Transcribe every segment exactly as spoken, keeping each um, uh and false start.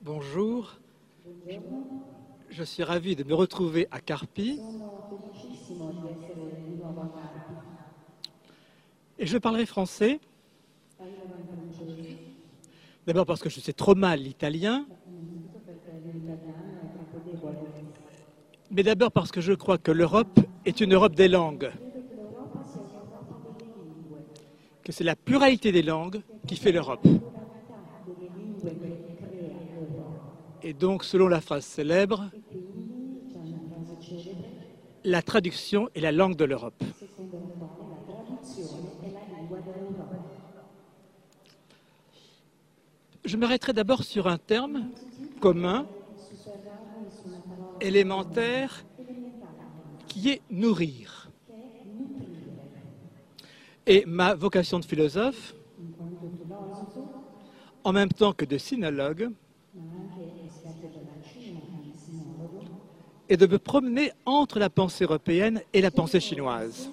Bonjour, je suis ravi de me retrouver à Carpi et je parlerai français. D'abord parce que je sais trop mal l'italien, mais d'abord parce que je crois que l'Europe est une Europe des langues, que c'est la pluralité des langues qui fait l'Europe. Et donc, selon la phrase célèbre, la traduction est la langue de l'Europe. Je m'arrêterai d'abord sur un terme commun, élémentaire, qui est nourrir. Et ma vocation de philosophe, en même temps que de sinologue, est de me promener entre la pensée européenne et la pensée chinoise.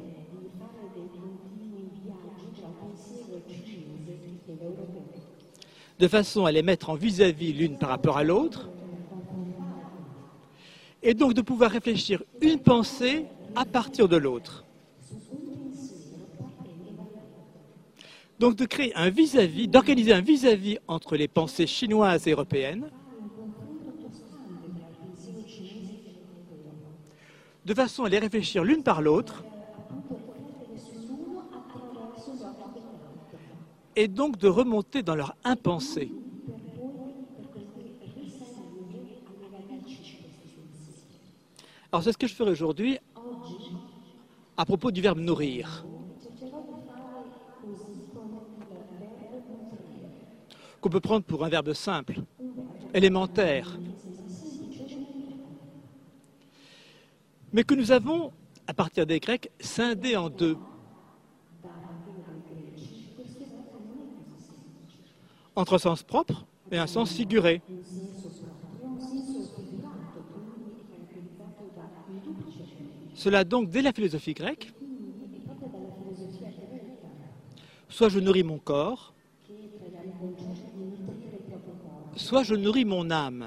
De façon à les mettre en vis-à-vis l'une par rapport à l'autre, et donc de pouvoir réfléchir une pensée à partir de l'autre. Donc de créer un vis-à-vis, d'organiser un vis-à-vis entre les pensées chinoises et européennes, de façon à les réfléchir l'une par l'autre, et donc de remonter dans leur impensé. Alors c'est ce que je ferai aujourd'hui à propos du verbe nourrir, qu'on peut prendre pour un verbe simple, élémentaire, mais que nous avons, à partir des Grecs, scindé en deux. Entre un sens propre et un sens figuré. Cela donc dès la philosophie grecque. Soit je nourris mon corps, soit je nourris mon âme.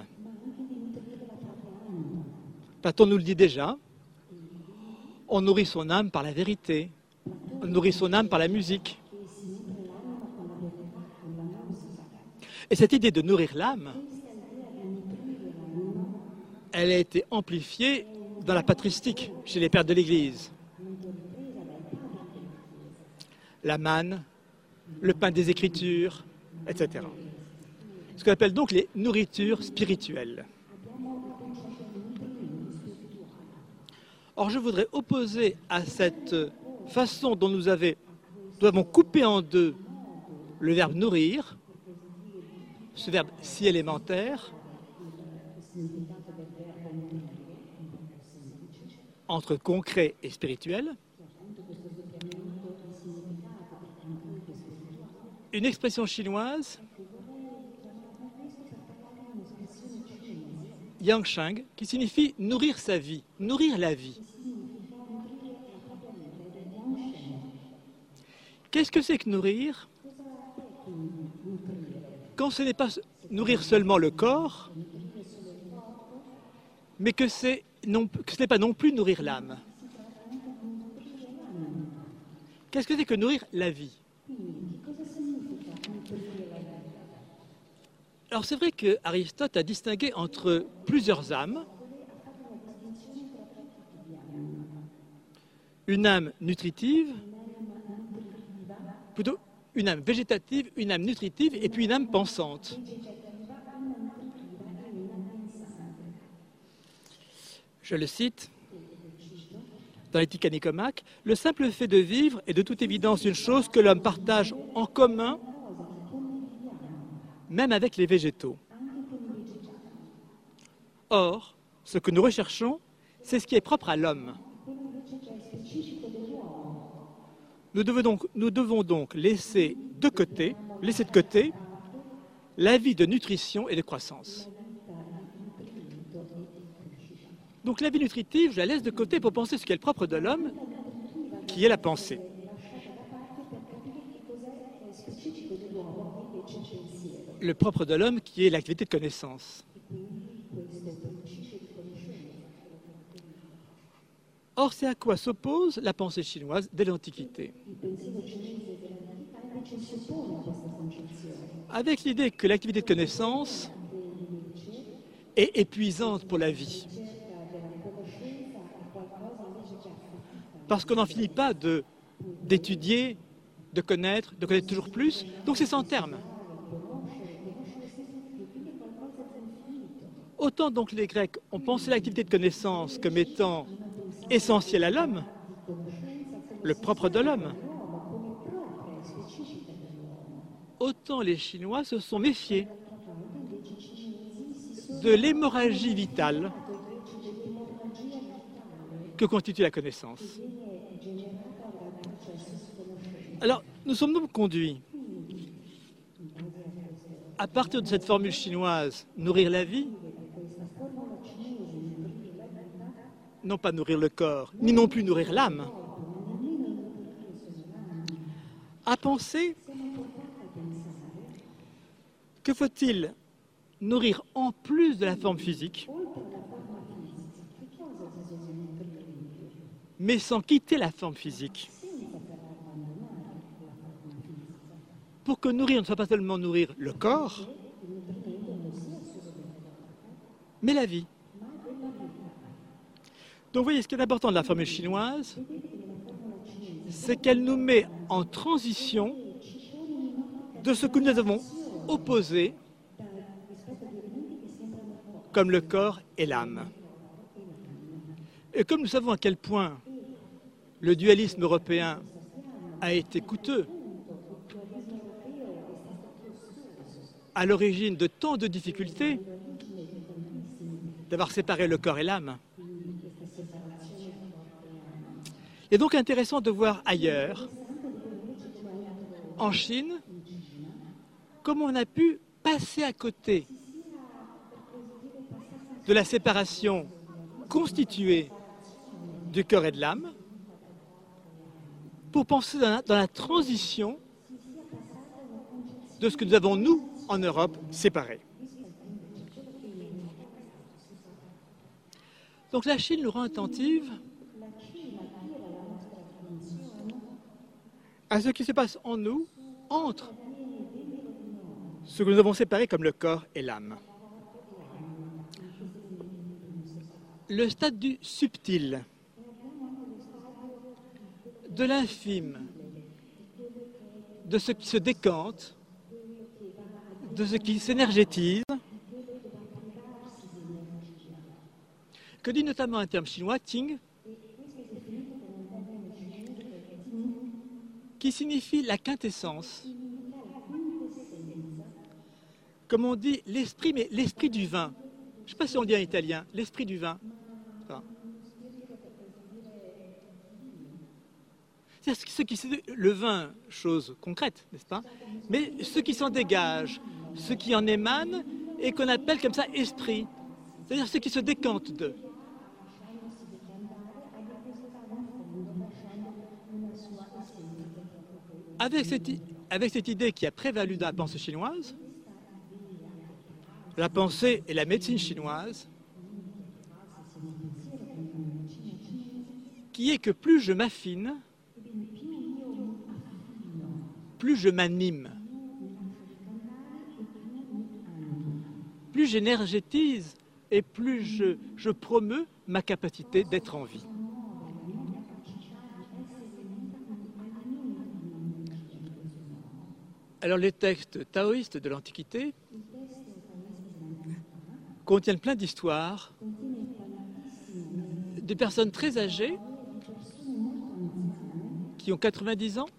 Platon nous le dit déjà. On nourrit son âme par la vérité. On nourrit son âme par la musique. Et cette idée de nourrir l'âme, elle a été amplifiée dans la patristique, chez les pères de l'Église. La manne, le pain des Écritures, et cetera. Ce qu'on appelle donc les nourritures spirituelles. Or, je voudrais opposer à cette façon dont nous, avait, nous avons coupé en deux le verbe nourrir, ce verbe si élémentaire, entre concret et spirituel, une expression chinoise, Yangsheng, qui signifie nourrir sa vie, nourrir la vie. Qu'est-ce que c'est que nourrir? Quand ce n'est pas nourrir seulement le corps, mais que, c'est non, que ce n'est pas non plus nourrir l'âme. Qu'est-ce que c'est que nourrir la vie? Alors c'est vrai qu'Aristote a distingué entre plusieurs âmes, une âme nutritive, plutôt une âme végétative, une âme nutritive et puis une âme pensante. Je le cite dans l'Éthique à Nicomaque, « Le simple fait de vivre est de toute évidence une chose que l'homme partage en commun, même avec les végétaux. Or, ce que nous recherchons, c'est ce qui est propre à l'homme. Nous devons donc, nous devons donc laisser de côté, laisser de côté la vie de nutrition et de croissance. Donc la vie nutritive, je la laisse de côté pour penser ce qui est le propre de l'homme, qui est la pensée. le propre de l'homme qui est l'activité de connaissance. Or, c'est à quoi s'oppose la pensée chinoise dès l'Antiquité. Avec l'idée que l'activité de connaissance est épuisante pour la vie. Parce qu'on n'en finit pas de, d'étudier, de connaître, de connaître toujours plus. Donc c'est sans terme. Autant donc les Grecs ont pensé l'activité de connaissance comme étant essentielle à l'homme, le propre de l'homme, autant les Chinois se sont méfiés de l'hémorragie vitale que constitue la connaissance. Alors, nous sommes donc conduits, à partir de cette formule chinoise, nourrir la vie, non pas nourrir le corps, ni non plus nourrir l'âme, à penser que faut-il nourrir en plus de la forme physique, mais sans quitter la forme physique. Pour que nourrir ne soit pas seulement nourrir le corps, mais la vie. Donc vous voyez, ce qui est important de la formule chinoise, c'est qu'elle nous met en transition de ce que nous avons opposé comme le corps et l'âme. Et comme nous savons à quel point le dualisme européen a été coûteux, à l'origine de tant de difficultés, d'avoir séparé le corps et l'âme. Il est donc intéressant de voir ailleurs, en Chine, comment on a pu passer à côté de la séparation constituée du corps et de l'âme pour penser dans la, dans la transition de ce que nous avons, nous, en Europe, séparé. Donc la Chine nous rend attentive à ce qui se passe en nous, entre ce que nous avons séparé comme le corps et l'âme. Le stade du subtil, de l'infime, de ce qui se décante, de ce qui s'énergétise, que dit notamment un terme chinois, Ting, qui signifie la quintessence. Comme on dit l'esprit, mais l'esprit du vin. Je ne sais pas si on dit en italien, l'esprit du vin. Enfin, c'est ce qui, le vin, chose concrète, n'est-ce pas? Mais ce qui s'en dégage, ce qui en émane et qu'on appelle comme ça esprit. C'est-à-dire ce qui se décante d'eux. Avec cette, avec cette idée qui a prévalu dans la pensée chinoise, la pensée et la médecine chinoise, qui est que plus je m'affine, plus je m'anime, plus j'énergétise et plus je, je promeus ma capacité d'être en vie. Alors les textes taoïstes de l'Antiquité contiennent plein d'histoires de personnes très âgées qui ont quatre-vingt-dix ans,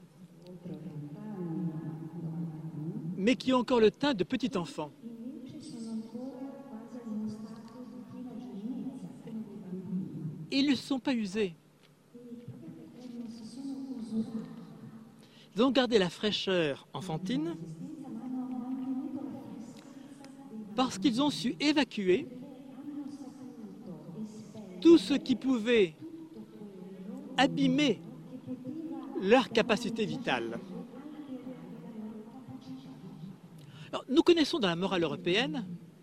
mais qui ont encore le teint de petit enfant. Ils ne sont pas usés. Ils ont gardé la fraîcheur enfantine parce qu'ils ont su évacuer tout ce qui pouvait abîmer leur capacité vitale. Alors, nous connaissons dans la morale européenne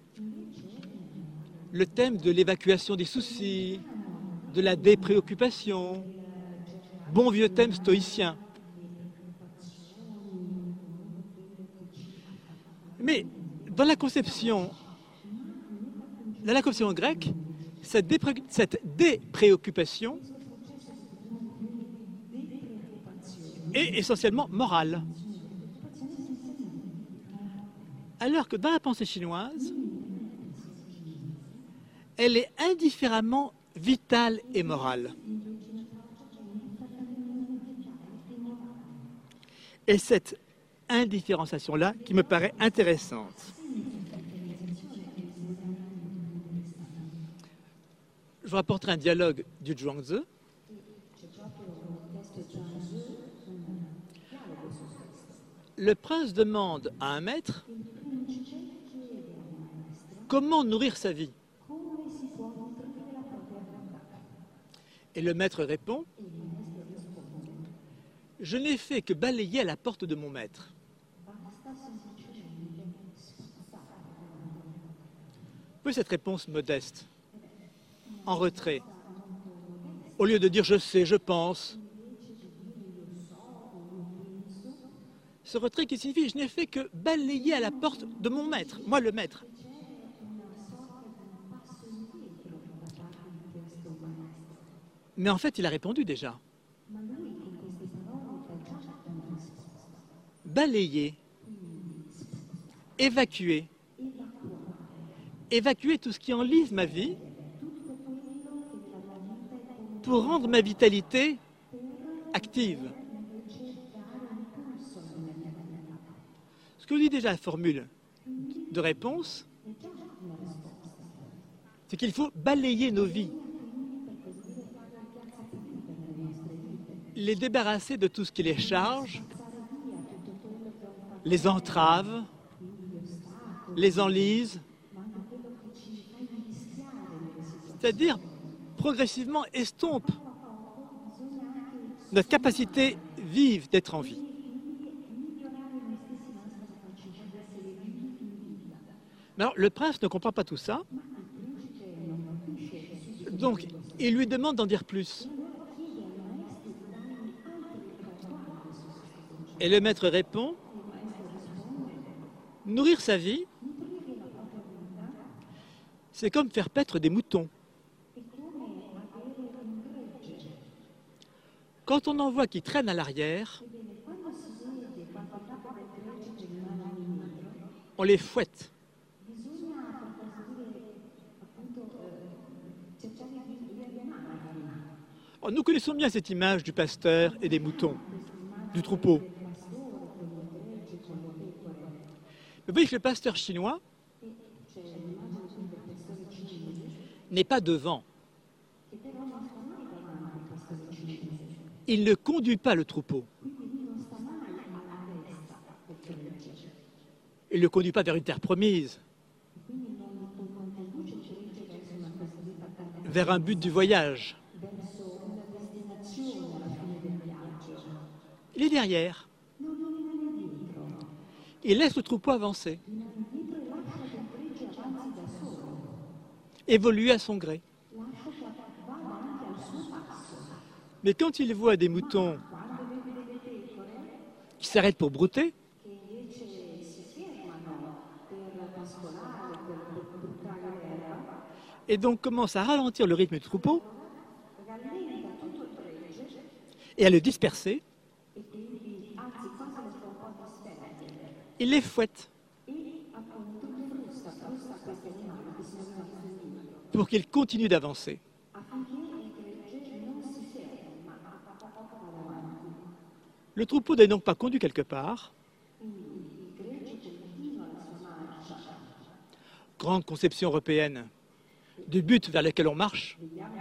le thème de l'évacuation des soucis, de la dépréoccupation, bon vieux thème stoïcien. Mais dans la conception, dans la conception grecque, cette, dépré cette dépréoccupation est essentiellement morale. Alors que dans la pensée chinoise, elle est indifféremment vitale et morale. Et cette indifférenciation-là qui me paraît intéressante. Je vous rapporterai un dialogue du Zhuangzi. Le prince demande à un maître comment nourrir sa vie. Et le maître répond: je n'ai fait que balayer à la porte de mon maître. Vous voyez cette réponse modeste, en retrait. Au lieu de dire je sais, je pense. Ce retrait qui signifie je n'ai fait que balayer à la porte de mon maître, moi le maître. Mais en fait, il a répondu déjà. Balayer, évacuer, évacuer tout ce qui enlise ma vie pour rendre ma vitalité active. Ce que dit déjà la formule de réponse, c'est qu'il faut balayer nos vies, les débarrasser de tout ce qui les charge, les entrave, les enlise, c'est-à-dire progressivement estompe notre capacité vive d'être en vie. Mais alors, le prince ne comprend pas tout ça, donc il lui demande d'en dire plus. Et le maître répond: nourrir sa vie, c'est comme faire paître des moutons. Quand on en voit qui traînent à l'arrière, on les fouette. Oh, nous connaissons bien cette image du pasteur et des moutons, du troupeau. Mais vous voyez que le pasteur chinois n'est pas devant. Il ne conduit pas le troupeau. Il ne le conduit pas vers une terre promise, vers un but du voyage. Il est derrière. Il laisse le troupeau avancer, évoluer à son gré. Mais quand il voit des moutons qui s'arrêtent pour brouter, et donc commence à ralentir le rythme du troupeau et à le disperser, il les fouette pour qu'ils continuent d'avancer. Le troupeau n'est donc pas conduit quelque part. Grande conception européenne du but vers lequel on marche.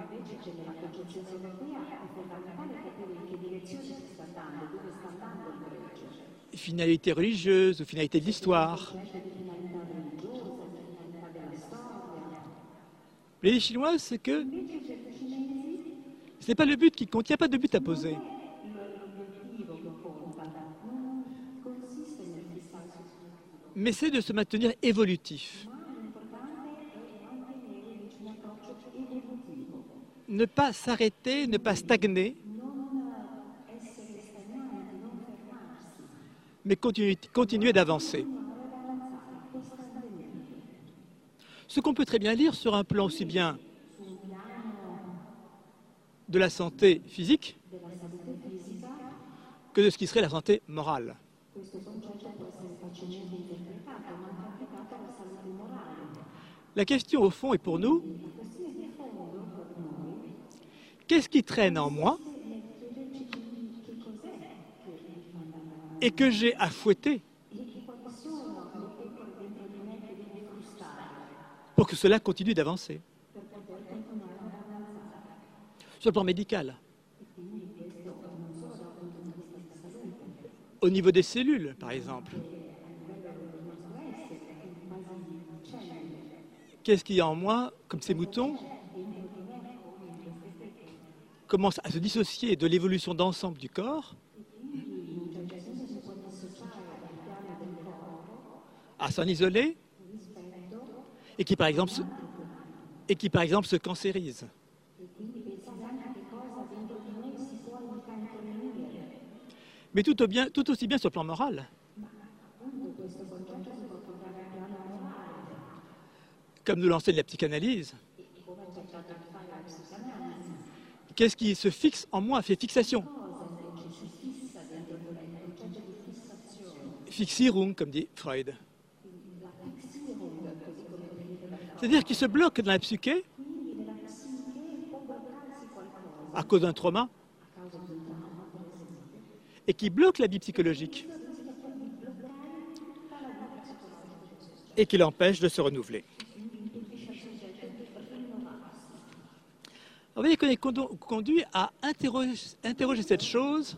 Finalité religieuse ou finalité de l'histoire. Les Chinois, c'est que ce n'est pas le but qui compte, il n'y a pas de but à poser. mais c'est de se maintenir évolutif. Ne pas s'arrêter, ne pas stagner, mais continuer, continuer d'avancer. Ce qu'on peut très bien lire sur un plan aussi bien de la santé physique que de ce qui serait la santé morale. La question au fond est pour nous, qu'est-ce qui traîne en moi et que j'ai à fouetter pour que cela continue d'avancer? Sur le plan médical, au niveau des cellules, par exemple. Qu'est-ce qu'il y a en moi, comme ces moutons commencent à se dissocier de l'évolution d'ensemble du corps, à s'en isoler, et qui, par exemple, se, et qui, par exemple, se cancérisent. Mais tout, au bien, tout aussi bien sur le plan moral. Comme nous l'enseigne la psychanalyse. Qu'est-ce qui se fixe en moi, fait fixation? Fixierung, comme dit Freud. C'est-à-dire qu'il se bloque dans la psyché à cause d'un trauma et qui bloque la vie psychologique et qui l'empêche de se renouveler. Vous voyez qu'on est conduit à interroger, interroger cette chose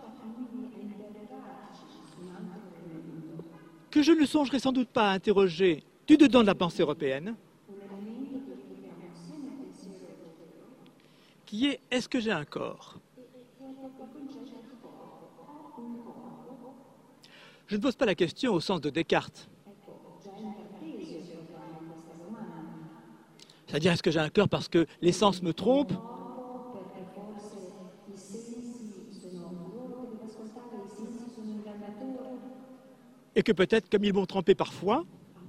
que je ne songerai sans doute pas à interroger du dedans de la pensée européenne, qui est « est-ce que j'ai un corps ?» Je ne pose pas la question au sens de Descartes. C'est-à-dire, est-ce que j'ai un cœur parce que les sens me trompent? Et que peut-être, comme ils m'ont trompé parfois,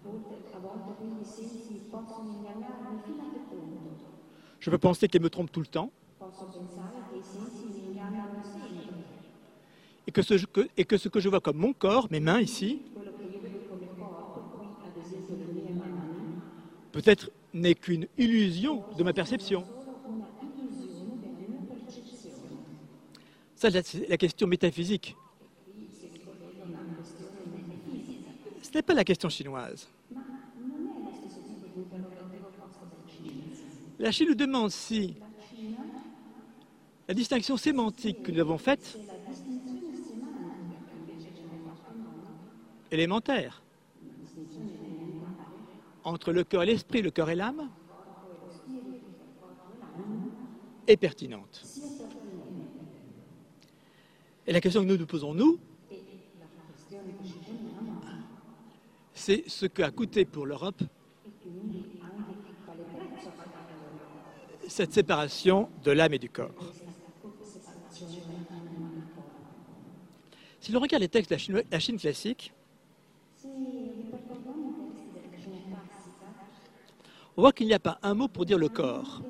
je peux penser qu'ils me trompent tout le temps. Et que, ce, que, et que ce que je vois comme mon corps, mes mains ici, peut-être n'est qu'une illusion de ma perception. Ça, c'est la question métaphysique. Ce n'est pas la question chinoise. La Chine nous demande si la distinction sémantique que nous avons faite, élémentaire, entre le cœur et l'esprit, le cœur et l'âme, est pertinente. Et la question que nous nous posons, nous, c'est ce qu'a coûté pour l'Europe cette séparation de l'âme et du corps. Si l'on regarde les textes de la Chine, la Chine classique, on voit qu'il n'y a pas un mot pour dire le corps.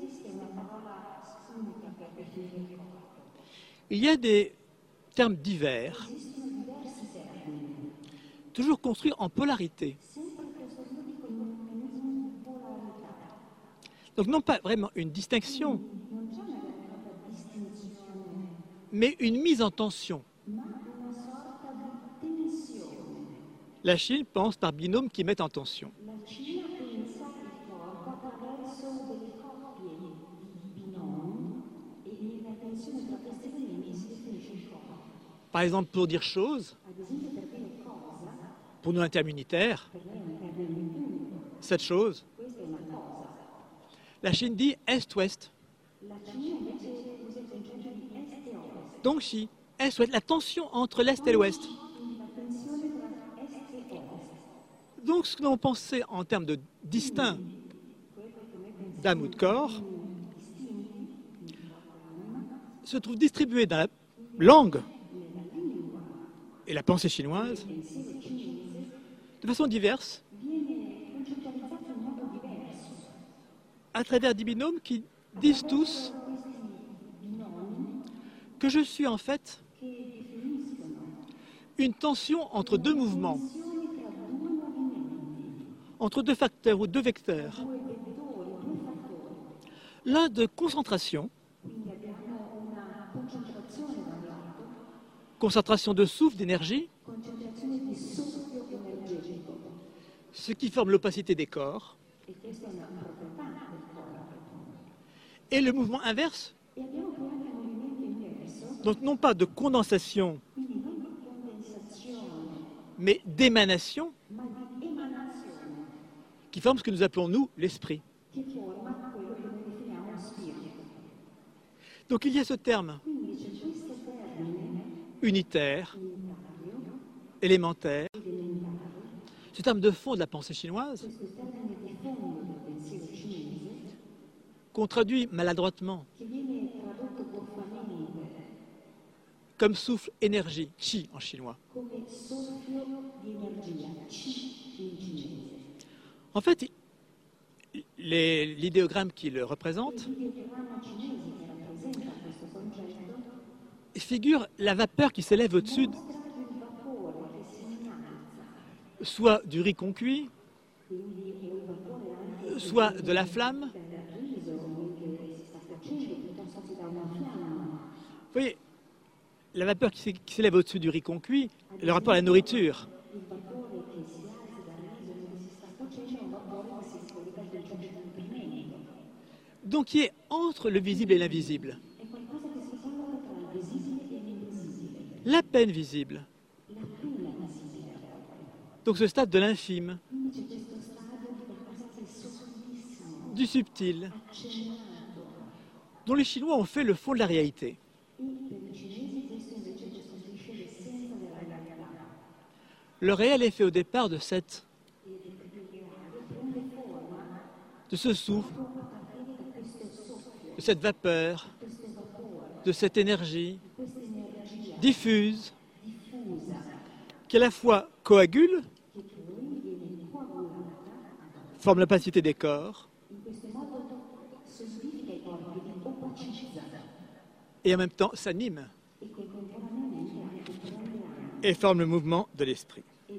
Il y a des termes divers, toujours construits en polarité. Donc non pas vraiment une distinction, mais une mise en tension. La Chine pense par binôme qui mettent en tension. Par exemple, pour dire chose, pour nous intermunitaires, cette chose, la Chine dit Est-Ouest. Donc si, Est-Ouest, la tension entre l'Est et l'Ouest. donc ce que nous avons pensé en termes de distinct d'âme ou de corps se trouve distribué dans la langue et la pensée chinoise de façon diverse à travers des binômes qui disent tous que je suis en fait une tension entre deux mouvements, entre deux facteurs ou deux vecteurs. L'un de concentration, concentration de souffle, d'énergie, ce qui forme l'opacité des corps, et le mouvement inverse, donc non pas de condensation, mais d'émanation, qui forme ce que nous appelons, nous, l'esprit. Donc il y a ce terme unitaire, élémentaire, ce terme de fond de la pensée chinoise, qu'on traduit maladroitement comme souffle énergie, chi en chinois. En fait, l'idéogramme qui le représente figure la vapeur qui s'élève au-dessus, soit du riz qu'on cuit, soit de la flamme. Vous voyez, la vapeur qui s'élève au-dessus du riz qu'on cuit, le rapport à la nourriture. Donc, qui est entre le visible et l'invisible. La peine visible. Donc ce stade de l'infime, du subtil, dont les Chinois ont fait le fond de la réalité. Le réel est fait au départ de cette, de ce souffle, de cette vapeur, de cette énergie diffuse, qui à la fois coagule, forme l'opacité des corps, et en même temps s'anime et forme le mouvement de l'esprit.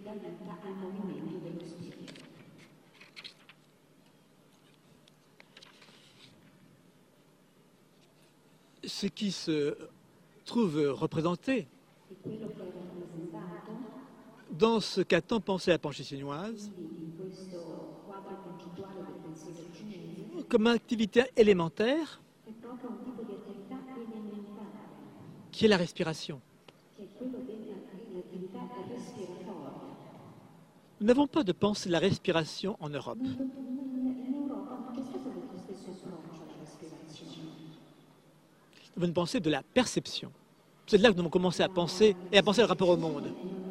Ce qui se trouve représenté dans ce qu'a tant pensé la pensée chinoise comme activité élémentaire qui est la respiration. Nous n'avons pas de pensée de la respiration en Europe. Nous avons une pensée de la perception. C'est de là que nous avons commencé à penser et à penser le rapport au monde.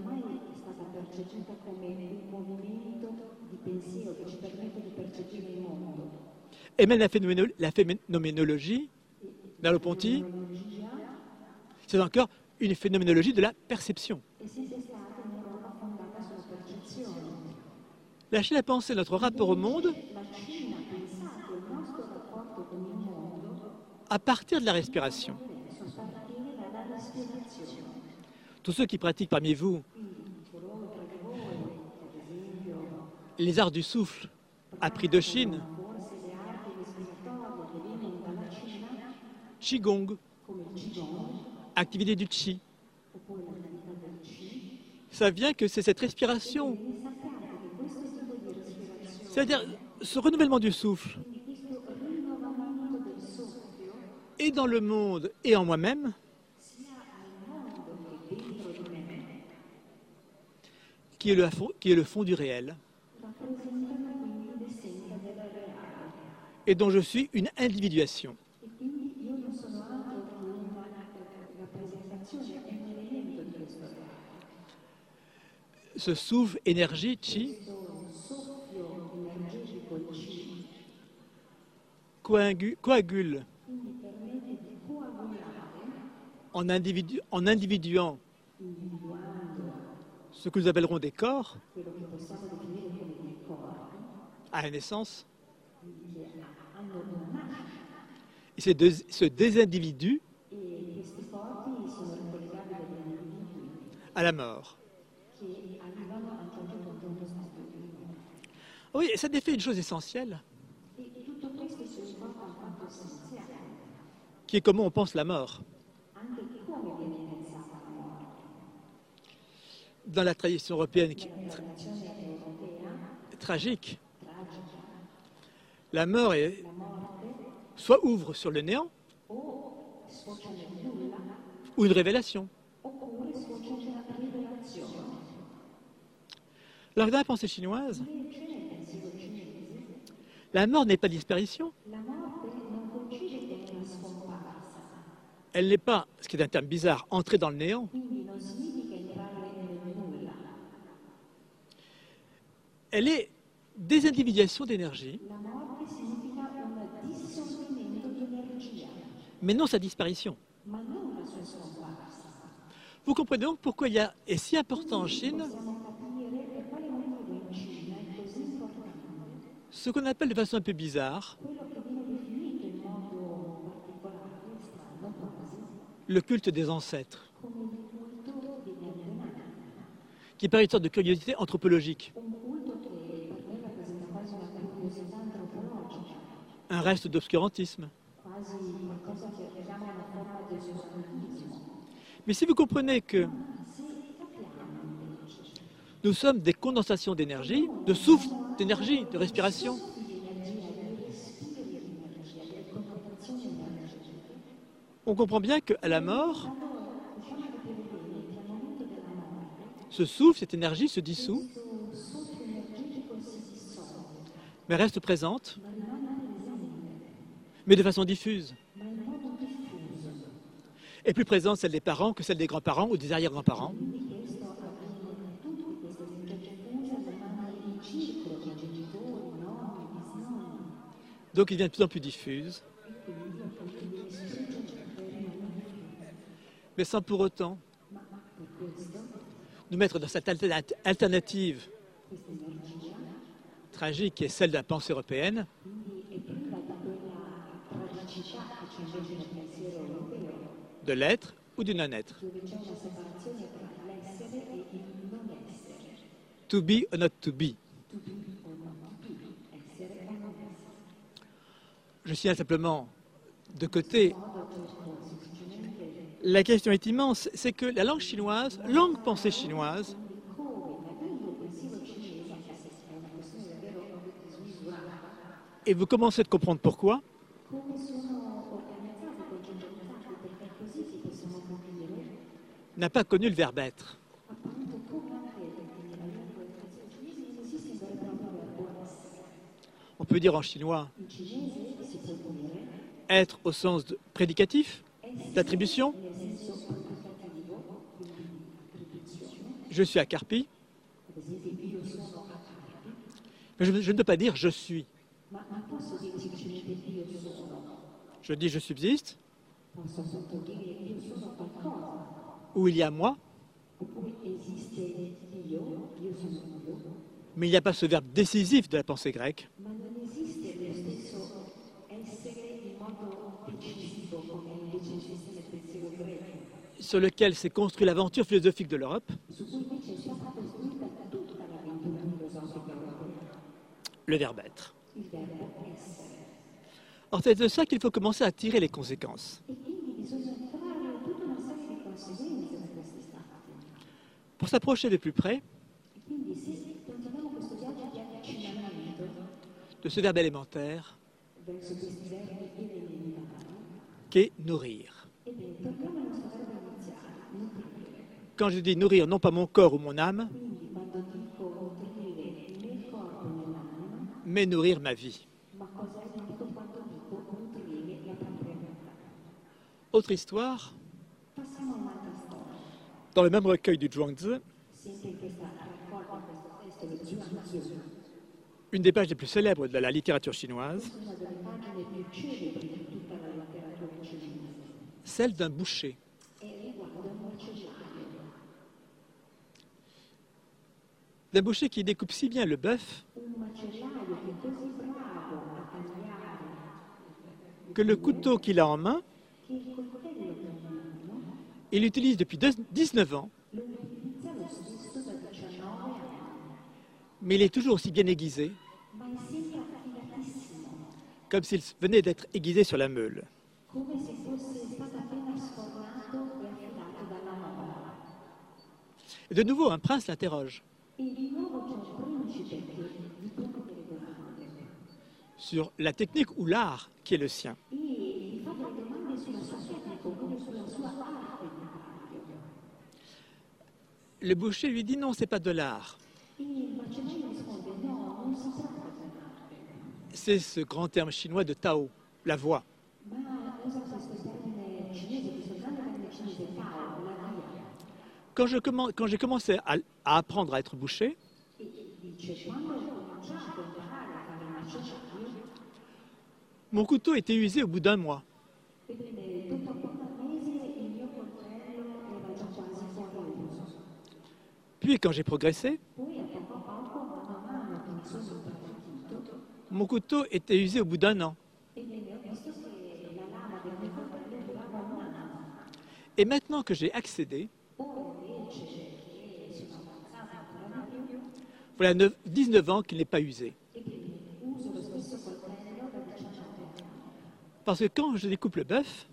Et même la, phénoméno la phénoménologie, Merleau-Ponty, c'est encore une phénoménologie de la perception. La Chine a pensé notre rapport au monde à partir de la respiration. Tous ceux qui pratiquent parmi vous les arts du souffle appris de Chine, Qigong, activité du Qi, ça vient que c'est cette respiration, c'est-à-dire ce renouvellement du souffle, et dans le monde et en moi-même, qui est, le, qui est le fond du réel, et dont je suis une individuation. Ce souffle, énergie, chi, coagu- coagule en, individu- en individuant ce que nous appellerons des corps à la naissance. Et ces deux, ce désindividu à la mort. Oui, et ça défait une chose essentielle, qui est comment on pense la mort. Dans la tradition européenne qui est tra- tragique, la mort est, soit ouvre sur le néant, ou une révélation. Alors, dans la pensée chinoise, la mort n'est pas disparition. Elle n'est pas, ce qui est un terme bizarre, entrer dans le néant. Elle est désindividuation d'énergie, mais non sa disparition. Vous comprenez donc pourquoi il y a, est si important en Chine, ce qu'on appelle de façon un peu bizarre le culte des ancêtres, qui paraît une sorte de curiosité anthropologique. Un reste d'obscurantisme. Mais si vous comprenez que nous sommes des condensations d'énergie, de souffle d'énergie, de respiration, on comprend bien qu'à la mort, ce souffle, cette énergie se dissout, mais reste présente, mais de façon diffuse. Et plus présente celle des parents que celle des grands-parents ou des arrière-grands-parents. Donc il devient de plus en plus diffuse, mais sans pour autant nous mettre dans cette alternative tragique qui est celle de la pensée européenne, de l'être ou du non-être. To be or not to be. Je signale simplement de côté, la question est immense, c'est que la langue chinoise, langue pensée chinoise, et vous commencez à comprendre pourquoi, n'a pas connu le verbe être. On peut dire en chinois être au sens de prédicatif, d'attribution. Je suis à Carpi. Mais je, je ne peux pas dire je suis. Je dis je subsiste. Où il y a moi. Mais il n'y a pas ce verbe décisif de la pensée grecque. Sur lequel s'est construite l'aventure philosophique de l'Europe. Le verbe être. Or, c'est de ça qu'il faut commencer à tirer les conséquences. Pour s'approcher de plus près de ce verbe élémentaire qu'est nourrir. Quand je dis nourrir, non pas mon corps ou mon âme, mais nourrir ma vie. Autre histoire, dans le même recueil du Zhuangzi, une des pages les plus célèbres de la littérature chinoise, celle d'un boucher. D'un boucher qui découpe si bien le bœuf que le couteau qu'il a en main, il l'utilise depuis dix-neuf ans, mais il est toujours aussi bien aiguisé, comme s'il venait d'être aiguisé sur la meule. Et de nouveau, un prince l'interroge sur la technique ou l'art qui est le sien. Le boucher lui dit non, c'est pas de l'art. C'est ce grand terme chinois de Tao, la voie. Quand je commence, quand j'ai commencé à, à apprendre à être boucher, mon couteau était usé au bout d'un mois. Puis quand j'ai progressé, mon couteau était usé au bout d'un an. Et maintenant que j'ai accédé, voilà dix-neuf ans qu'il n'est pas usé. Parce que quand je découpe le bœuf,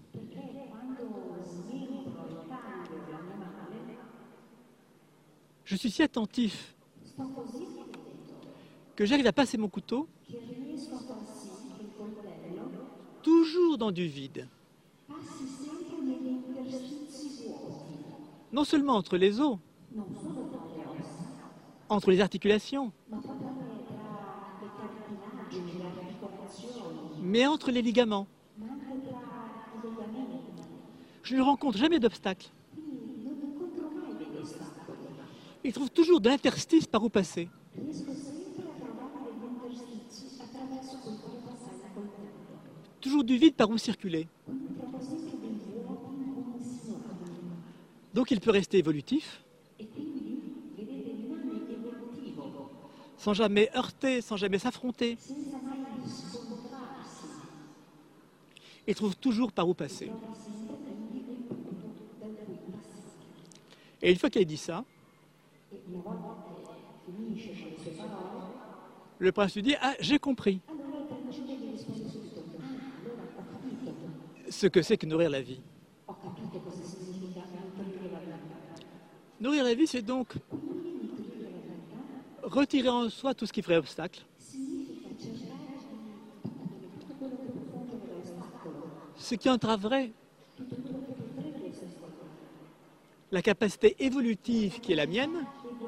je suis si attentif que j'arrive à passer mon couteau toujours dans du vide. Non seulement entre les os, entre les articulations, mais entre les ligaments. Je ne rencontre jamais d'obstacle. Il trouve toujours de l'interstice par où passer. Toujours du vide par où circuler. Donc il peut rester évolutif, sans jamais heurter, sans jamais s'affronter. Il trouve toujours par où passer. Et une fois qu'il a dit ça, le prince lui dit « Ah, j'ai compris ce que c'est que nourrir la vie. » Nourrir la vie, c'est donc retirer en soi tout ce qui ferait obstacle, ce qui entraverait la capacité évolutive qui est la mienne,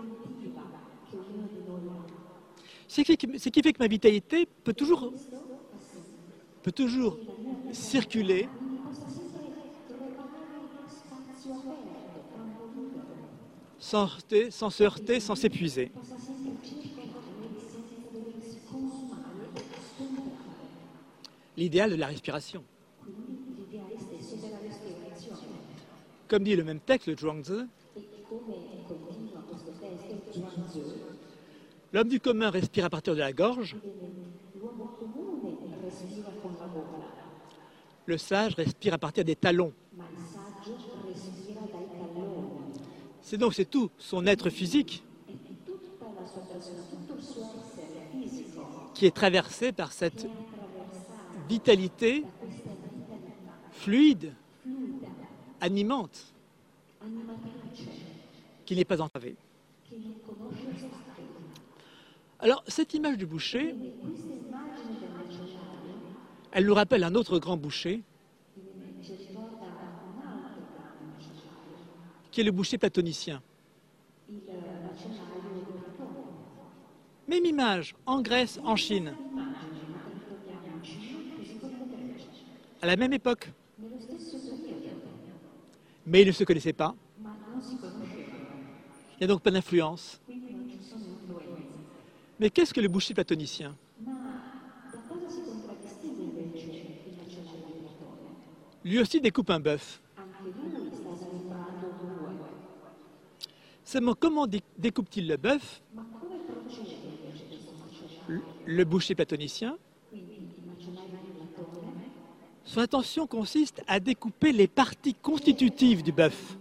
ce qui fait que, ce qui fait que ma vitalité peut toujours, peut toujours circuler sans, heurter, sans se heurter, sans s'épuiser. L'idéal de la respiration. Comme dit le même texte, le Zhuangzi, l'homme du commun respire à partir de la gorge, le sage respire à partir des talons. C'est donc c'est tout son être physique qui est traversé par cette vitalité fluide, animante, qui n'est pas entravée. Alors, cette image du boucher, elle nous rappelle un autre grand boucher, qui est le boucher platonicien. Même image, en Grèce, en Chine, à la même époque. Mais ils ne se connaissaient pas. Il n'y a donc pas d'influence. Mais qu'est-ce que le boucher platonicien? Lui aussi découpe un bœuf. Seulement, comment découpe-t-il le bœuf? Le boucher platonicien, son intention consiste à découper les parties constitutives du bœuf.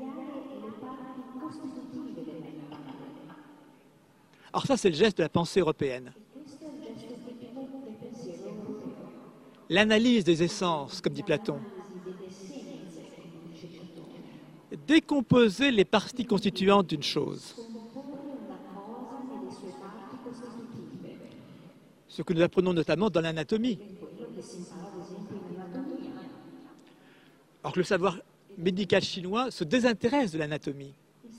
Alors ça, c'est le geste de la pensée européenne. L'analyse des essences, comme dit Platon. Décomposer les parties constituantes d'une chose. Ce que nous apprenons notamment dans l'anatomie. Alors que le savoir médical chinois se désintéresse de l'anatomie.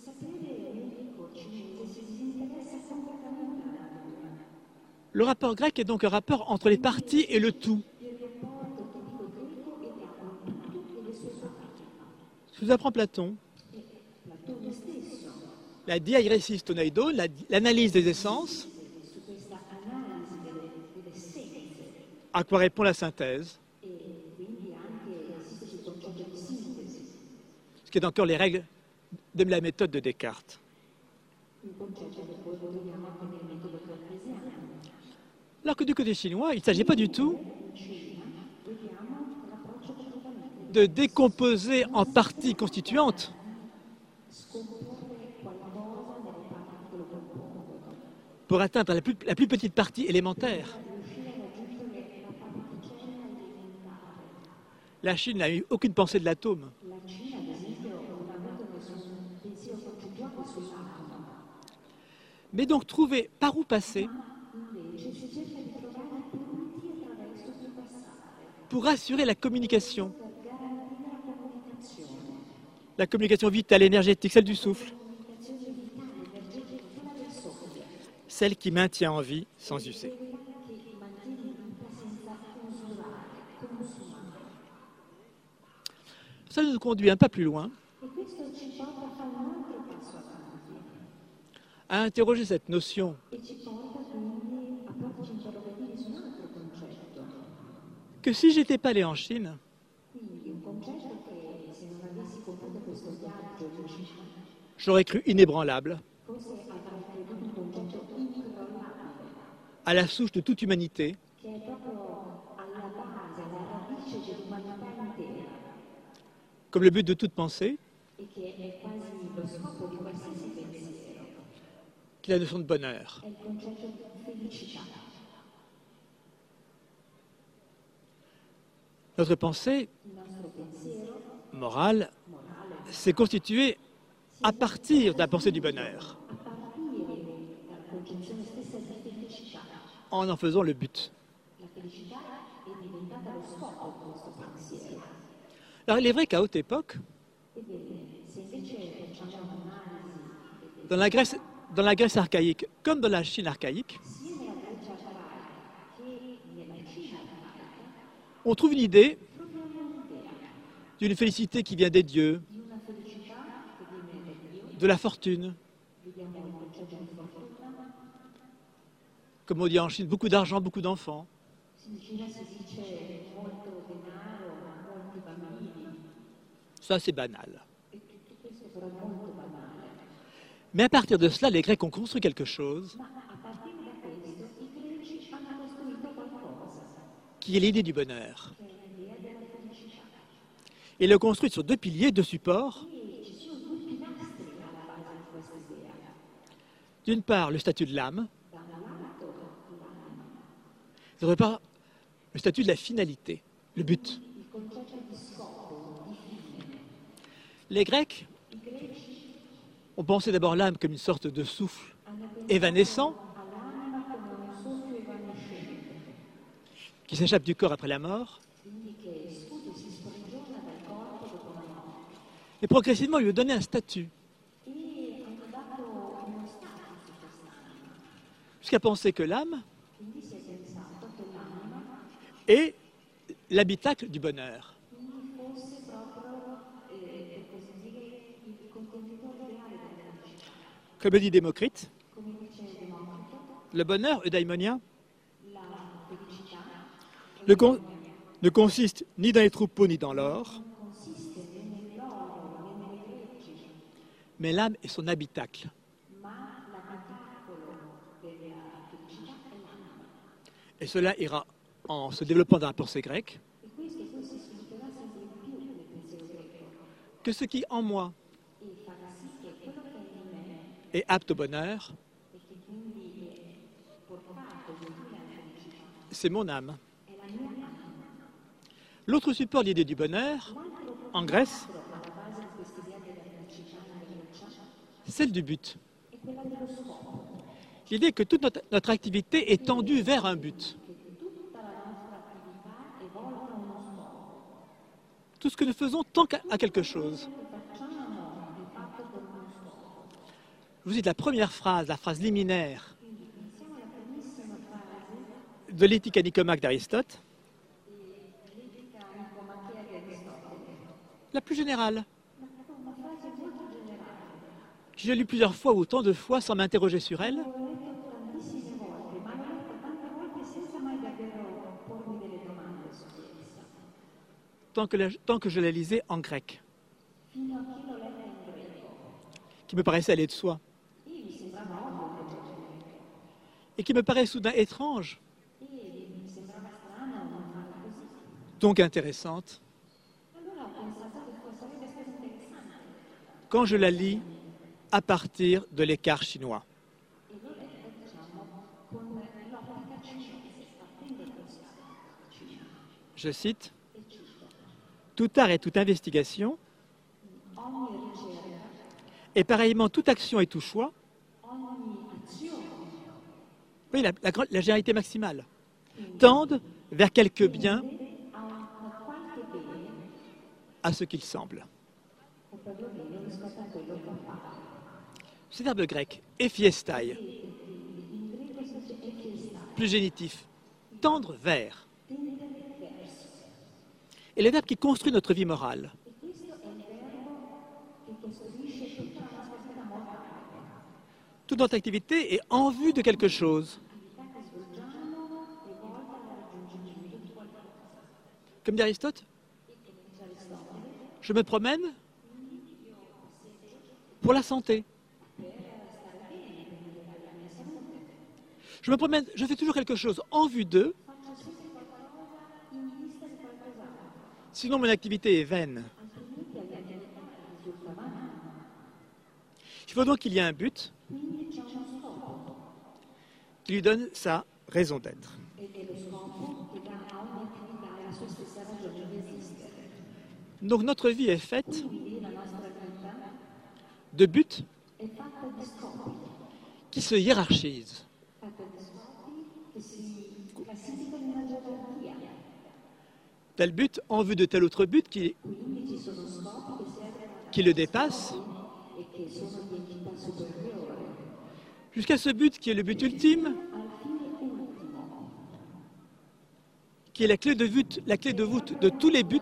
Le rapport grec est donc un rapport entre les parties et le tout. Ce que nous apprend Platon, la diairesis toneidon, l'analyse des essences, à quoi répond la synthèse, ce qui est encore les règles de la méthode de Descartes. Alors que du côté chinois, il ne s'agit pas du tout de décomposer en parties constituantes pour atteindre la plus, la plus petite partie élémentaire. La Chine n'a eu aucune pensée de l'atome. Mais donc trouver par où passer pour assurer la communication. La communication vitale, énergétique, celle du souffle. Celle qui maintient en vie sans user. Ça nous conduit un pas plus loin à interroger cette notion que si j'étais pas allé en Chine, j'aurais cru inébranlable à la souche de toute humanité, comme le but de toute pensée, qui est la notion de bonheur. Notre pensée morale s'est constituée à partir de la pensée du bonheur, en en faisant le but. Alors il est vrai qu'à haute époque, dans la Grèce, dans la Grèce archaïque comme dans la Chine archaïque, on trouve une idée d'une félicité qui vient des dieux, de la fortune. Comme on dit en Chine, beaucoup d'argent, beaucoup d'enfants. Ça, c'est banal. Mais à partir de cela, les Grecs ont construit quelque chose qui est l'idée du bonheur. Et le construit sur deux piliers, deux supports. D'une part, le statut de l'âme. D'autre part, le statut de la finalité, le but. Les Grecs ont pensé d'abord l'âme comme une sorte de souffle évanescent qui s'échappe du corps après la mort. Et progressivement, ils lui ont donné un statut. Jusqu'à penser que l'âme est l'habitacle du bonheur. Comme le dit Démocrite, Le bonheur, eudaimonia, ne, con- ne consiste ni dans les troupeaux ni dans l'or, mais l'âme est son habitacle. Et cela ira en se développant dans la pensée grecque, que ce qui en moi est apte au bonheur, c'est mon âme. L'autre support de l'idée du bonheur, en Grèce, celle du but. L'idée que toute notre, notre activité est tendue vers un but. Tout ce que nous faisons tend à quelque chose. Je vous dis la première phrase, la phrase liminaire de l'éthique nicomaque d'Aristote, la plus générale, que j'ai lue plusieurs fois ou autant de fois sans m'interroger sur elle, tant que, la, tant que je la lisais en grec, qui me paraissait aller de soi, et qui me paraît soudain étrange, donc intéressante, quand je la lis à partir de l'écart chinois. Je cite, « Tout art et toute investigation, et pareillement toute action et tout choix, oui, la, la, la généralité maximale, tendent vers quelque bien à ce qu'il semble. » Ce verbe grec, ephiestai, plus génitif, tendre vers, est le verbe qui construit notre vie morale. Toute notre activité est en vue de quelque chose. Comme dit Aristote, je me promène pour la santé. Je me promène, je fais toujours quelque chose en vue d'eux, sinon mon activité est vaine. Il faut donc qu'il y ait un but qui lui donne sa raison d'être. Donc notre vie est faite de buts qui se hiérarchisent. Tel but en vue de tel autre but qui, qui le dépasse, jusqu'à ce but qui est le but ultime, qui est la clé de voûte, la clé de voûte de tous les buts,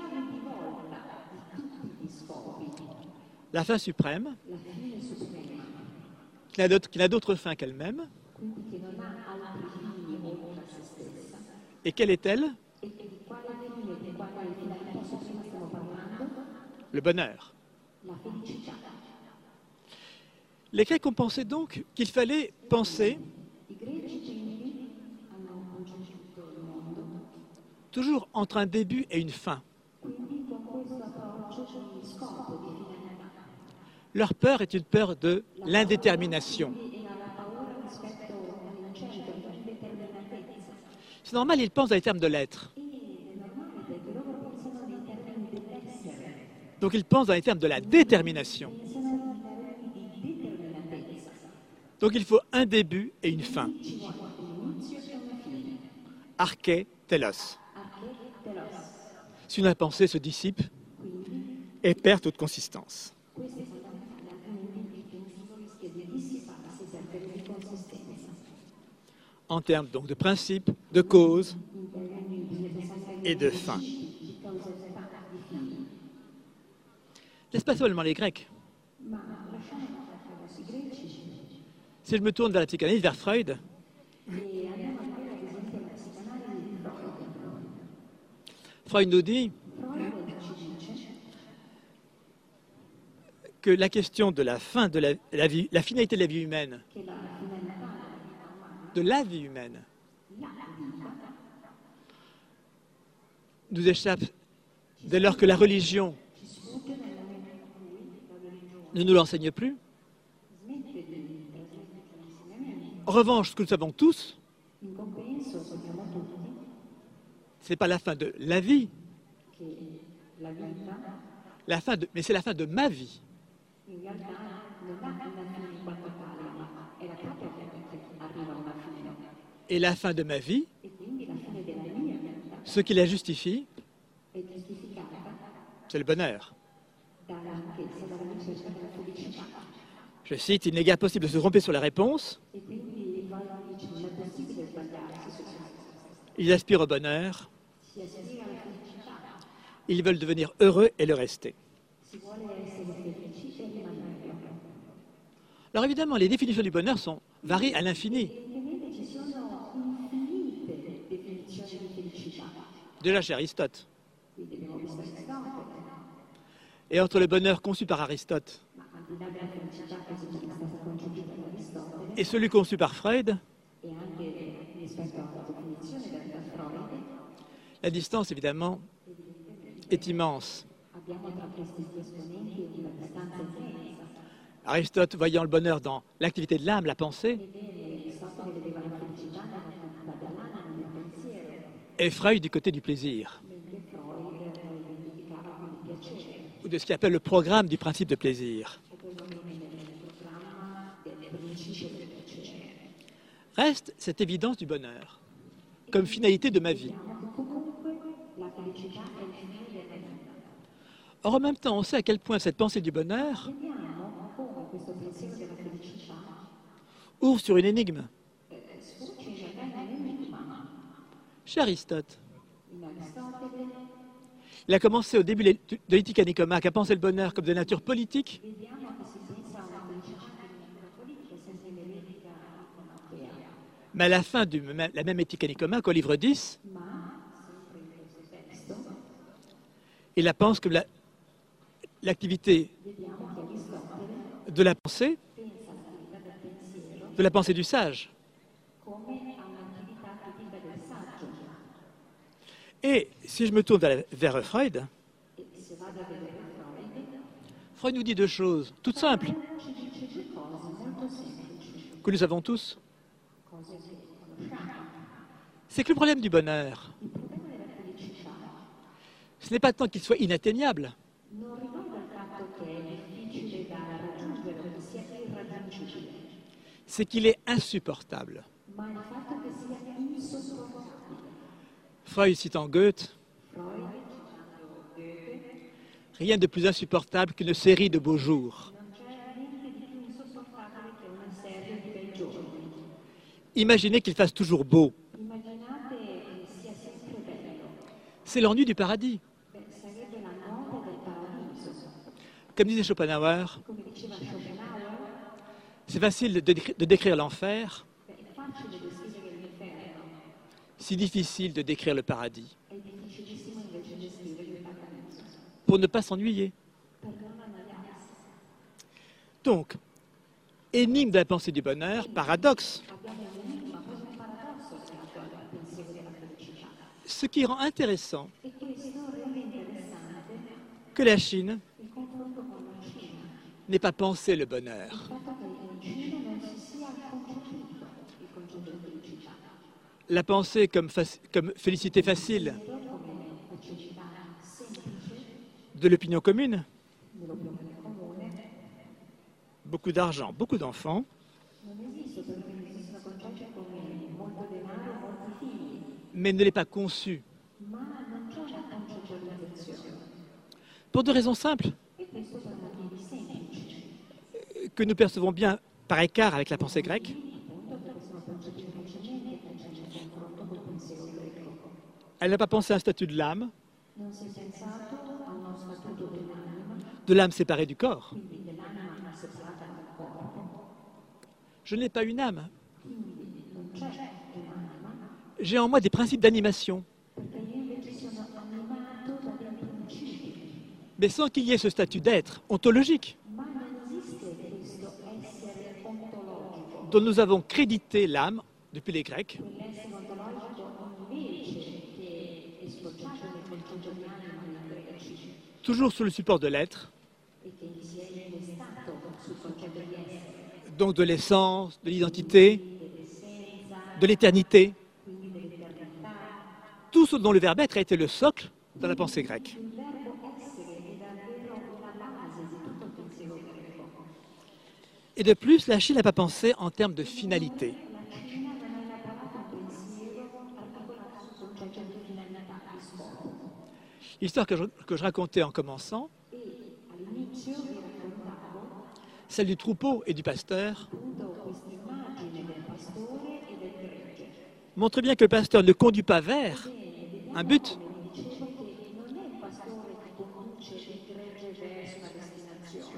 la fin suprême, qui n'a d'autre fin qu'elle-même. Et quelle est-elle? Le bonheur. Les Grecs ont pensé donc qu'il fallait penser toujours entre un début et une fin. Leur peur est une peur de l'indétermination. C'est normal, ils pensent dans les termes de l'être. Donc ils pensent dans les termes de la détermination. Donc il faut un début et une fin. Arché, telos. Si la pensée se dissipe et perd toute consistance. En termes donc de principe, de cause et de fin. N'est-ce pas seulement les Grecs? Si je me tourne vers la psychanalyse, vers Freud, Freud nous dit que la question de la fin de la, la vie, la finalité de la vie humaine, de la vie humaine, nous échappe dès lors que la religion ne nous l'enseigne plus. En revanche, ce que nous savons tous, ce n'est pas la fin de la vie, la fin de, mais c'est la fin de ma vie. Et la fin de ma vie, ce qui la justifie, c'est le bonheur. Je cite, « Il n'est guère possible de se tromper sur la réponse. Ils aspirent au bonheur. Ils veulent devenir heureux et le rester. » Alors évidemment, les définitions du bonheur sont varient à l'infini. Déjà chez Aristote. Et entre le bonheur conçu par Aristote et celui conçu par Freud, la distance, évidemment, est immense. Aristote, voyant le bonheur dans l'activité de l'âme, la pensée, et Freud du côté du plaisir, ou de ce qu'il appelle le programme du principe de plaisir. Reste cette évidence du bonheur comme finalité de ma vie. Or, en même temps, on sait à quel point cette pensée du bonheur ouvre sur une énigme. Chez Aristote, il a commencé au début de l'Éthique Nicomaque à penser le bonheur comme de nature politique. Mais à la fin de la même Éthique Nicomaque, au livre dix, il la pense comme l'activité la, de la pensée, de la pensée du sage. Et si je me tourne vers, vers Freud, Freud nous dit deux choses toutes simples, que nous savons tous. C'est que le problème du bonheur, ce n'est pas tant qu'il soit inatteignable, c'est qu'il est insupportable. Freud citant Goethe, rien de plus insupportable qu'une série de beaux jours. Imaginez qu'il fasse toujours beau. C'est l'ennui du paradis. Comme disait Schopenhauer, c'est facile de, de décrire l'enfer, si difficile de décrire le paradis. Pour ne pas s'ennuyer. Donc, énigme de la pensée du bonheur, paradoxe. Ce qui rend intéressant que la Chine n'ait pas pensé le bonheur. La pensée comme, comme félicité facile de l'opinion commune, beaucoup d'argent, beaucoup d'enfants, mais ne l'est pas conçue. Pour deux raisons simples, que nous percevons bien par écart avec la pensée grecque. Elle n'a pas pensé à un statut de l'âme, de l'âme séparée du corps. Je n'ai pas une âme. J'ai en moi des principes d'animation. mais sans qu'il y ait ce statut d'être ontologique ma non esiste questo essere ontologico. dont nous avons crédité l'âme depuis les Grecs, Quell'essere ontologico invece che è sbocciato nel concetto di anima dei greci toujours sous le support de l'être, e che si è innestato sul concetto di essere, donc de l'essence, de l'identité, dell'essenza, de l'éternité, quindi dell'eternità. tout ce dont le verbe être a été le socle dans la pensée grecque. Il verbo essere è davvero la base di tutto il pensiero greco. Et de plus, la Chine n'a pas pensé en termes de finalité. La Cina non ha elaborato un pensiero articolato sul concetto di finalità, di scopo. L'histoire que je, que je racontais en commençant, E all'inizio vi raccontavo celle du troupeau et du pasteur, appunto questa immagine del pastore e del gregge. montre bien que le pasteur ne conduit pas vers un but, Come vi dicevo che non è il pastore che conduce il gregge verso la destinazione.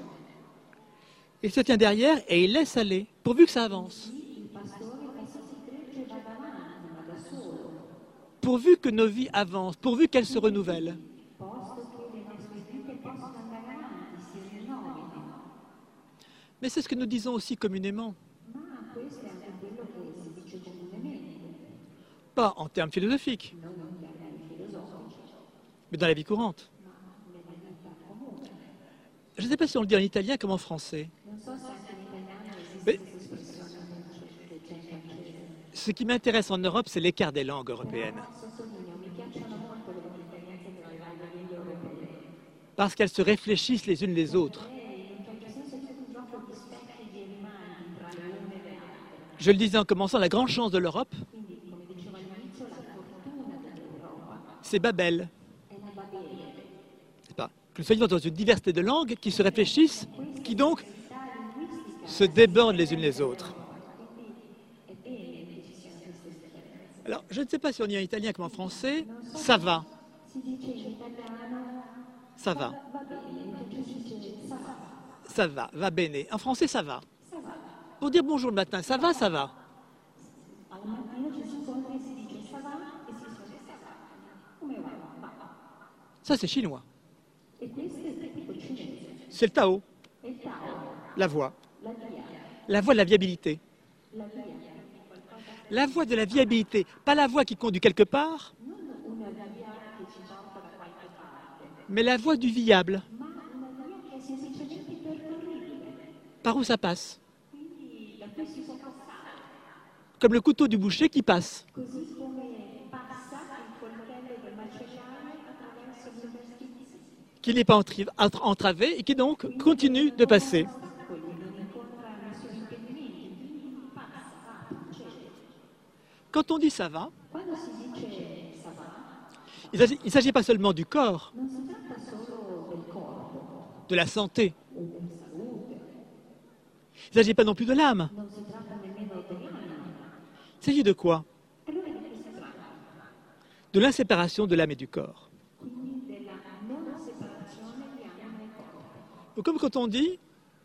il se tient derrière et il laisse aller, pourvu que ça avance. Il pastore fa sì che il gregge vada avanti, ma da solo, Pourvu que nos vies avancent, pourvu qu'elles se renouvellent. posto che le nostre vite possano andare avanti, si rinnovino. Mais c'est ce que nous disons aussi communément, Ma questo è anche quello che si dice comunemente, pas en termes philosophiques, non in termini filosofici, mais dans la vie courante. ma nella vita comune. Je ne sais pas si on le dit en italien comme en français. Non so se anche in italiano esiste Beh. questa espressione che c'è in francese. Ce qui m'intéresse en Europe, c'est l'écart des langues européennes, Sottolineo, mi piacciono molto le differenze tra le varie lingue europee. parce qu'elles se réfléchissent les unes les autres. E in un certo senso è tutto un gioco di specchi e di rimandi tra le une e le altre. Je le disais en commençant, la grande chance de l'Europe, Quindi, come dicevo all'inizio, la fortuna dell'Europa c'est Babel. è la Babele. C'est pas que nous soyons dans une diversité de langues qui se réfléchissent, qui donc Questa linguistica, se débordent les unes les autres. quindi è bene che ci siano queste differenze. Alors, je ne sais pas si on dit en italien comme en français, ça va, Si dice in italiano ça va, va bene, in francese si dice ça va, ça va, va bene. En français, ça va. ça va. Pour dire bonjour le matin, ça va, ça va. Al mattino ci si incontra e si dice ça va e si risponde ça va. Come va? Va. Ça, c'est chinois. E questo è tipico cinese. C'est le Tao, È il Tao, la voie. la via, La voie de la viabilité. la via. La voie de la viabilité, pas la voie qui conduit quelque part, Non una via che ci porta da qualche parte, mais la voie du viable, ma una via che è semplicemente percorribile. par où ça passe. Quindi da cui si può passare. Comme le couteau du boucher qui passe. Così come passa il coltello del macellaio attraverso gli interstizi. Qui n'est pas entri- entra- entravé et qui donc continue de passer. Ostacoli, non incontra nessun impedimento, quindi passa, va, procede. Quand on dit ça va, Quando si dice ça va, il s'agit- il ne s'agit pas seulement du corps, non si tratta solo del corpo de la santé. o della salute, Il ne s'agit pas non plus de l'âme. non si tratta nemmeno dell'anima. Il s'agit de quoi? Allora di che si tratta? De l'inséparation de l'âme et du corps. Quindi della non separazione di anima e corpo. Ou comme quand on dit,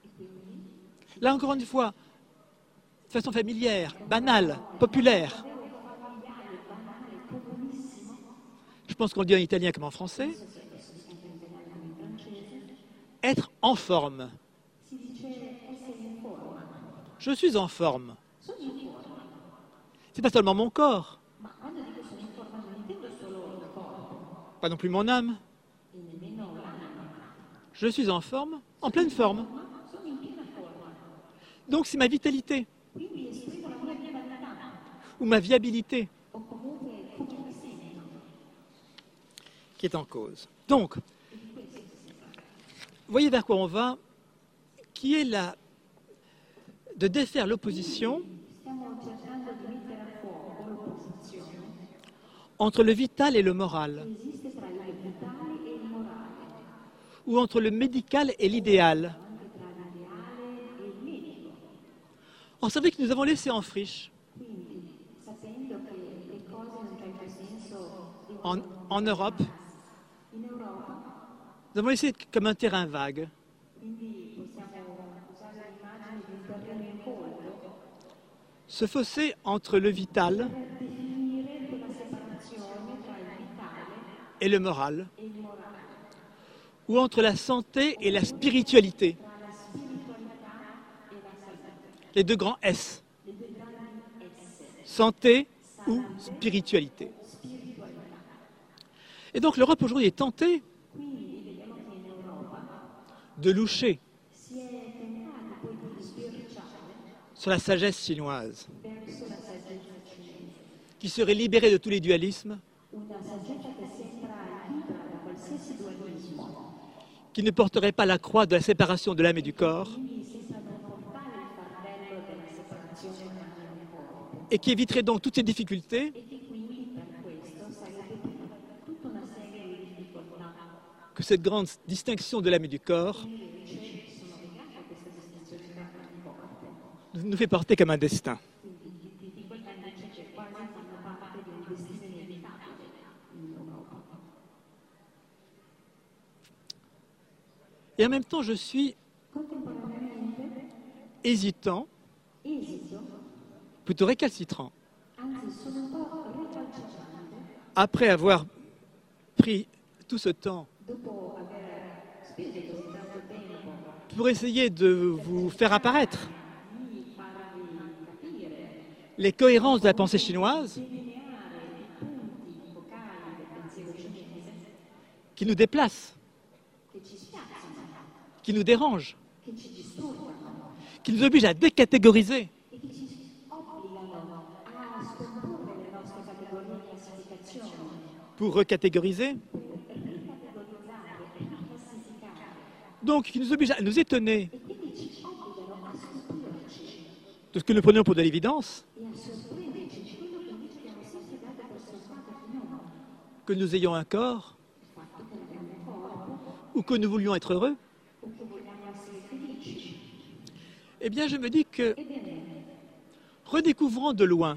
là encore une fois, de façon familière, banale, populaire. Familiare, banale, comunissimo, Je pense qu'on le dit en italien comme en français. se spesso si anche in italiano come in francese, Être en forme. si dice essere in forma. Je suis en forme. Sono in forma, C'est pas seulement mon corps, ma quando dico sono in forma non intendo solo il corpo pas non plus mon âme. e nemmeno l'anima, Je suis en forme, en pleine forme. ma sono in piena forma. Donc c'est ma vitalité Quindi esprimo la mia vitalità ou ma viabilité o comunque come mi sento. qui est en cause. Donc, voyez vers quoi on va, qui est la de défaire l'opposition Stiamo cercando di mettere a fuoco l'opposizione entre le vital et le moral, che esiste tra il vitale e il morale, ou entre le médical et l'idéal. anche tra l'ideale e il medico. Or, c'est vrai que nous avons laissé en friche, Quindi, sapendo che le cose in un certo senso en, en Europe, in Europa, nous avons laissé comme un terrain vague, quindi possiamo usare l'immagine di un terreno incolto ce fossé entre le vital per definire quella separazione tra il vitale et le moral, e il morale, ou entre la santé et la spiritualité. Les deux grands S. Santé ou spiritualité. Et donc l'Europe aujourd'hui est tentée de loucher sur la sagesse chinoise, qui serait libérée de tous les dualismes, qui ne porterait pas la croix de la séparation de l'âme et du corps, et qui éviterait donc toutes ces difficultés que cette grande distinction de l'âme et du corps nous fait porter comme un destin. Et en même temps, je suis hésitant, plutôt récalcitrant. Après avoir pris tout ce temps pour essayer de vous faire apparaître les cohérences de la pensée chinoise qui nous déplacent, qui nous dérangent, qui nous obligent à décatégoriser. Pour recatégoriser. Donc, qui nous oblige à nous étonner de ce que nous prenions pour de l'évidence, que nous ayons un corps, ou que nous voulions être heureux. Eh bien, je me dis que, redécouvrant de loin,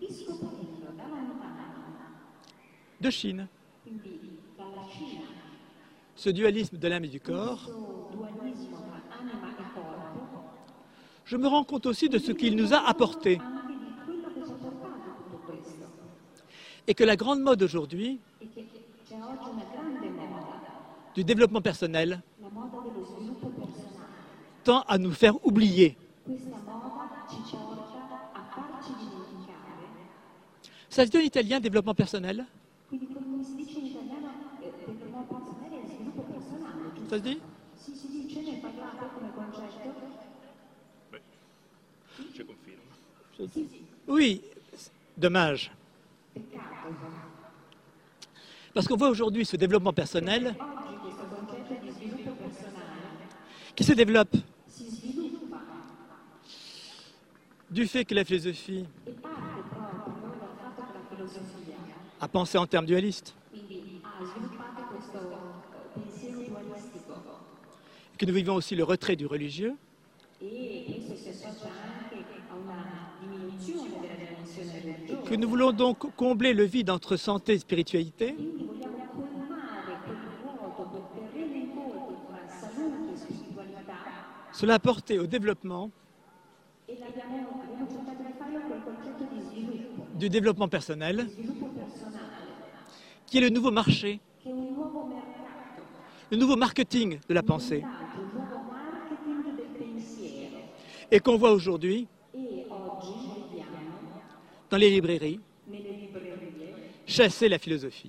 de Chine, ce dualisme de l'âme et du corps, je me rends compte aussi de ce qu'il nous a apporté. Et que la grande mode aujourd'hui du développement personnel tend à nous faire oublier. Ça se dit en italien, développement personnel? Ça se dit? Je confirme. Oui, dommage. Parce qu'on voit aujourd'hui ce développement personnel qui se développe du fait que la philosophie a pensé en termes dualistes, que nous vivons aussi le retrait du religieux, que nous voulons donc combler le vide entre santé et spiritualité, cela a porté au développement du développement personnel, qui est le nouveau marché, le nouveau marketing de la pensée, et qu'on voit aujourd'hui dans les librairies chasser la philosophie.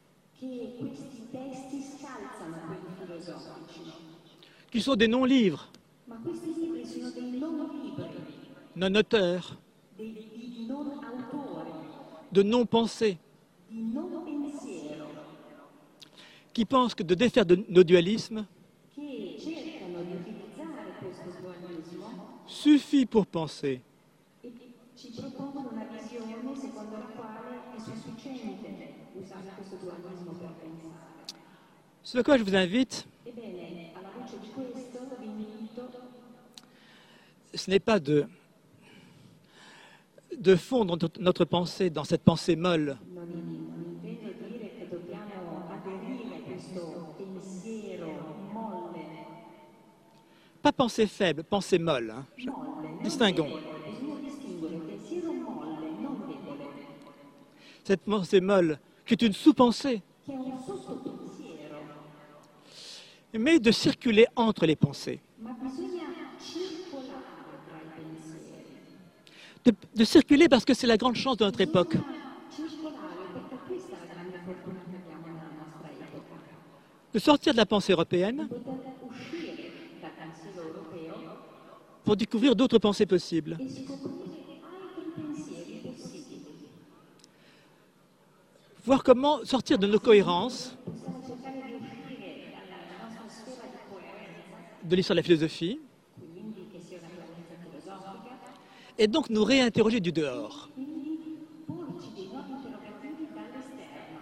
Qui sont des non-livres, non-auteurs, de non-pensées, qui pensent que de défaire de nos dualismes suffit pour penser. Ce à quoi je vous invite, ce n'est pas de, de fondre notre pensée dans cette pensée molle, pas pensée faible, pensée molle. Hein. Je... Distinguons. Cette pensée molle, qui est une sous-pensée, mais de circuler entre les pensées. ma bisogna circolare tra i pensieri. De, de circuler parce que c'est la grande chance de notre époque. Circolare perché questa è la grande fortuna che abbiamo nella nostra epoca. De sortir de la pensée européenne Poter uscire dal pensiero europeo pour découvrir d'autres pensées possibles. e scoprire altri pensieri possibili. Voir comment sortir de nos cohérences Possiamo cercare di uscire dalla nostra sfera di coerenza, de l'histoire de la philosophie quindi che sia una coerenza filosofica, et donc nous réinterroger du dehors. quindi porci dei nuovi interrogativi dall'esterno.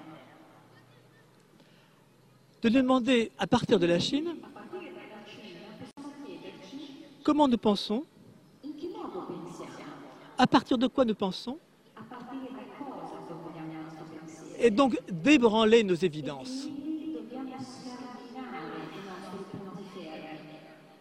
De nous demander à partir de la Chine A partire dalla Cina possiamo chiederci comment nous pensons, in che modo pensiamo, à partir de quoi nous pensons, a partire da cosa formuliamo il nostro pensiero. et donc débranler nos évidences. Quindi dobbiamo scardinare i nostri punti fermi.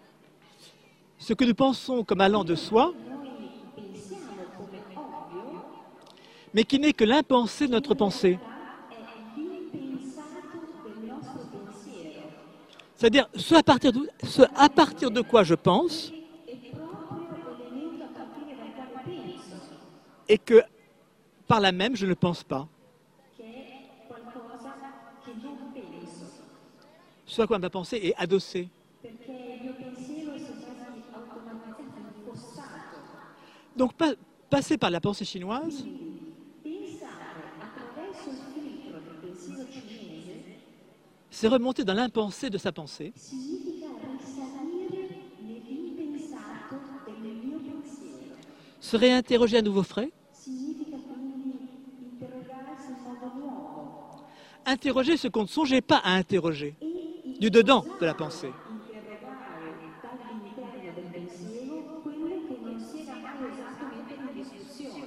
Ce que nous pensons comme allant de soi, Noi pensiamo come ovvio, mais qui n'est que l'impensé de notre pensée. è l'impensato del nostro pensiero. C'est-à-dire ce à, partir de, ce à partir de quoi je pense È proprio l'elemento a partire dal quale penso, et que par là même je ne pense pas. che è qualcosa che non penso, Ce à quoi ma pensée est adossée. perché il mio pensiero si è quasi automaticamente infossato. Donc pa- passer par la pensée chinoise, Pensare attraverso il filtro del pensiero cinese c'est remonter dans l'impensé de sa pensée significa risalire nell'impensato del mio pensiero. se réinterroger à nouveau frais, Significa quindi interrogarsi in modo nuovo interroger ce qu'on ne songeait pas à interroger, e du dedans de la pensée. interrogare dall'interno del pensiero quello che non si era mai osato mettere in discussione.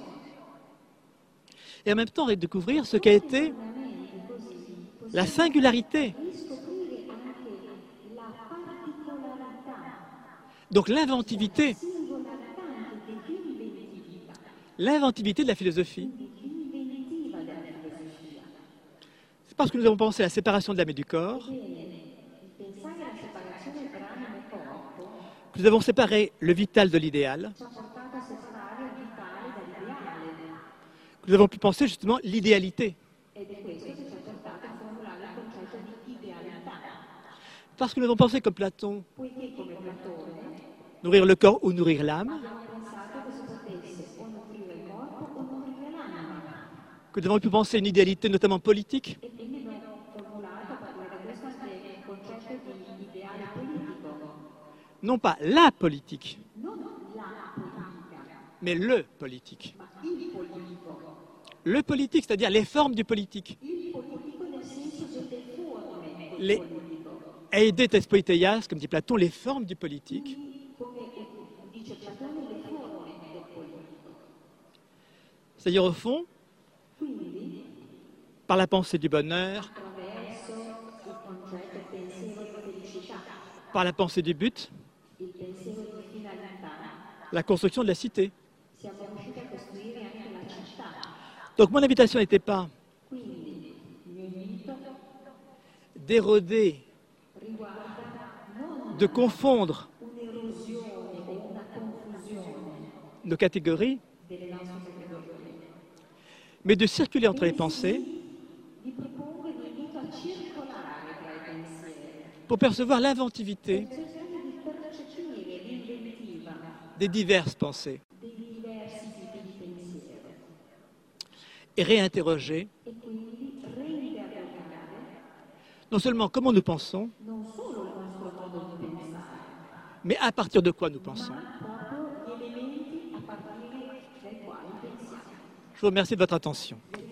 Et en même temps redécouvrir ce qu'a été Veramente così la singularité, riscoprire anche la particolarità, donc l'inventivité, singolarità anche dell'inventività, l'inventivité de la philosophie. l'inventiva della filosofia. C'est parce que nous avons pensé à la séparation de l'âme et du corps Bene, il pensare alla separazione tra anima e corpo que nous avons séparé le vital de l'idéal, ci ha portato a separare il vitale dall'ideale que nous avons pu penser justement l'idéalité. ed è questo che ci ha portato a formulare il concetto di idealità, Parce que nous avons pensé comme Platon, poiché come Platone nourrir le corps ou nourrir l'âme, abbiamo pensato che si potesse o nutrire il corpo o nutrire l'anima que nous avons pu penser une idéalité notamment politique, e quindi abbiamo formulato a partire da questo anche il concetto di ideale politico, non pas la politique, non la politica, mais le politique. ma il politico. Le politique, c'est-à-dire les formes du politique. Il politico nel senso delle forme del Les politico. eides espoiteias, comme dit Platon, les formes du politique, Come dice Platone, le forme del politico. c'est-à-dire au fond, Quindi, par la pensée du bonheur, attraverso il concetto, il pensiero di felicità, par la pensée du but, il pensiero di finalità, la construction de la cité. siamo riusciti a costruire anche la città. Donc mon invitation n'était pas Quindi, il mio invito d'éroder, riguarda non de confondre un'erosione o una confusione nos catégories, delle nostre categorie, mais de circuler entre les pensées vi propongo e vi invito a circolare tra i pensieri, pour percevoir l'inventivité cercando di percepire l'inventiva des diverses pensées dei diversi tipi di pensiero et réinterroger e quindi reinterrogare non seulement comment nous pensons, non solo il nostro modo di pensare, mais à partir de quoi nous pensons. ma proprio gli elementi a partire dai quali pensiamo. Je vous remercie de votre attention.